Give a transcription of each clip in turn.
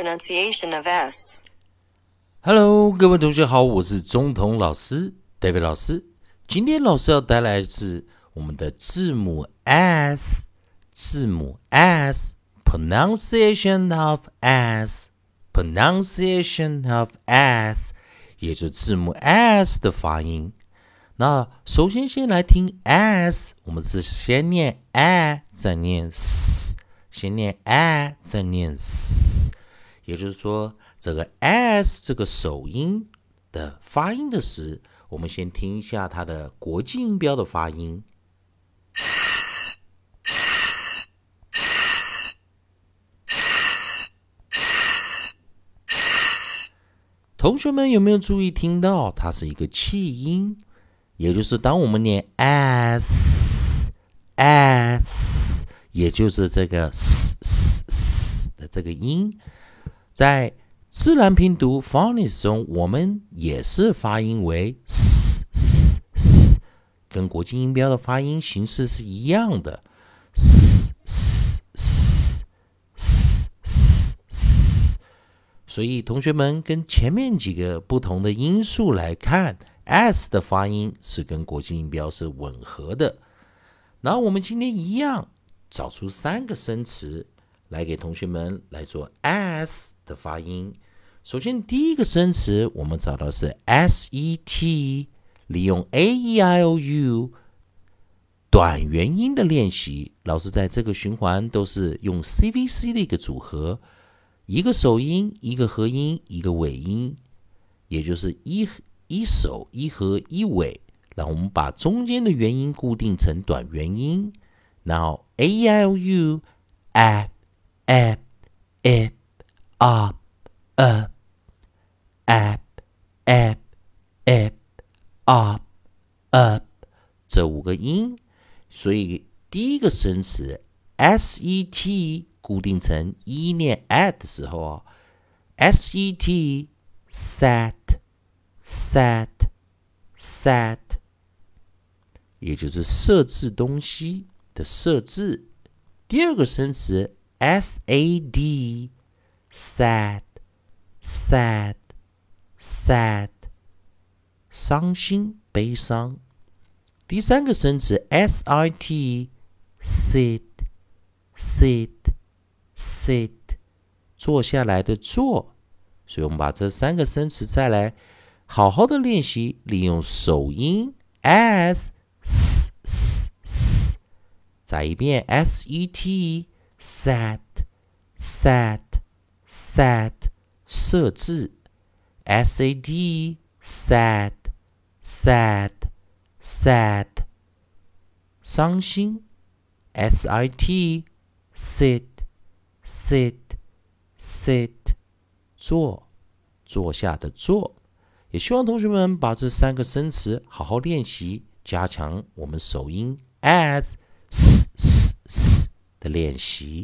pronunciation of S. Hello， 各位同学好，我是中童老师 David 老师。今天老师要带来的是我们的字母 S， 字母 S，pronunciation of S，pronunciation of S， 也就是字母 S 的发音。那首先来听 S， 我们是先念 A， 再念 S， 先念 A， 再念 S， 也就是说，这个 S 这个首音的发音的时，我们先听一下它的国际音标的发音。同学们有没有注意听到，它是一个气音？也就是当我们念 S， 也就是这个 S 的这个音，在自然拼读 phonics 中，我们也是发音为 S， 跟国际音标的发音形式是一样的。所以同学们跟前面几个不同的因素来看， S 的发音是跟国际音标是吻合的。然后我们今天一样找出3个生词来给同学们来做 S 的发音。首先第一个生词我们找到是 SET， 利用 AEIOU 短元音的练习。老师在这个循环都是用 CVC 的一个组合，一个首音，一个合音，一个尾音，也就是一首一合一尾，然后我们把中间的元音固定成短元音，然后 AEIOU at at it up up at at it up up 这5个音。所以第一个生词 SET 固定成一念 at 的时候 SET set set， 也就是设置东西的设置。第二个生词 SAD sad， 伤心悲伤。第三个生词 SIT sit， 坐下来的坐。所以我们把这3个生词再来好好的练习，利用首音 S， 再一遍 SET set， 设置 SAD sad， 伤心 SIT sit， 坐下的坐。也希望同学们把这3个生词好好练习，加强我们首音 as 的练习。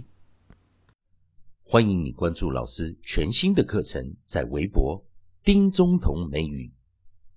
欢迎你关注老师全新的课程，在微博丁中同美语